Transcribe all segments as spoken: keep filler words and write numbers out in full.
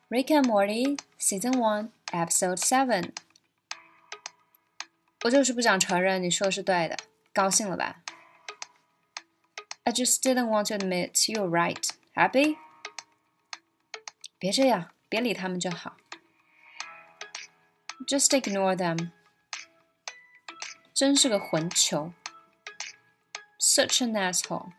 Rick and Morty Season one Episode seven 我就是不想承认你说的是对的，高兴了吧？ I just didn't want to admit you're right. Happy? 别这样，别理他们就好。Just ignore them. 真是个混球。Such an asshole.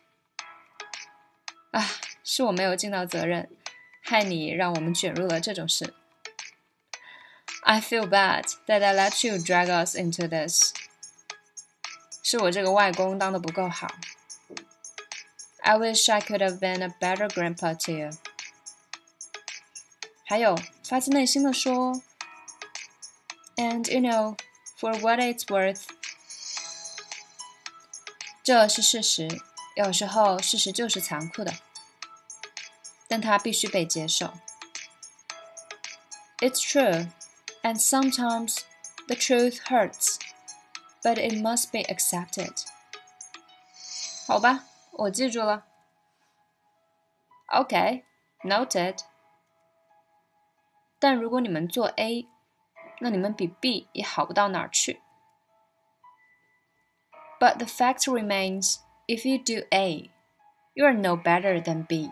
啊，是我没有尽到责任，害你让我们卷入了这种事。I feel bad that I let you drag us into this. 是我这个外公当得不够好。I wish I could have been a better grandpa to you. 还有，发自内心的说 And you know, for what it's worth. 这是事实，有时候事实就是残酷的，但它必须被接受。It's true, and sometimes the truth hurts, but it must be accepted. 好吧，我记住了。Okay, noted. 但如果你们做 A, 那你们比 B 也好不到哪儿去。But the fact remains, if you do A, you are no better than B.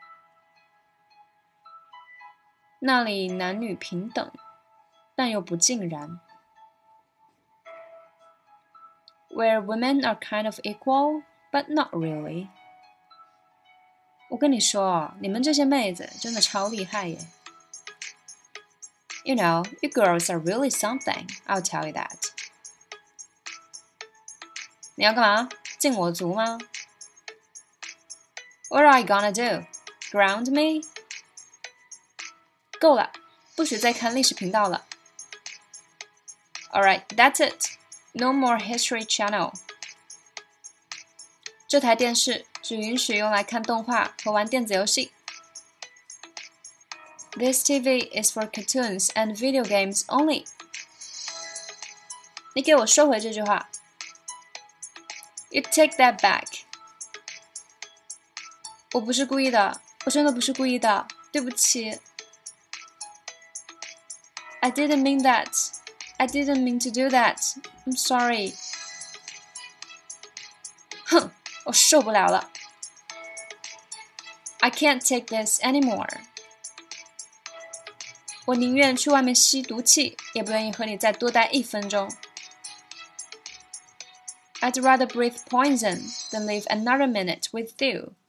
那里男女平等，但又不尽然。Where women are kind of equal, but not really. 我跟你说，你们这些妹子真的超厉害耶。You know, you girls are really something, I'll tell you that. 你要干嘛？敬我足吗？ What are you gonna do? Ground me? 够了，不许再看历史频道了。Alright, that's it. No more History Channel. 这台电视只允许用来看动画和玩电子游戏。This T V is for cartoons and video games only. 你给我收回这句话。You take that back. 我不是故意的，我真的不是故意的，对不起。I didn't mean that. I didn't mean to do that. I'm sorry. 哼，我受不了了。I can't take this anymore. 我宁愿去外面吸毒气，也不愿意和你再多待一分钟。I'd rather breathe poison than live another minute with you.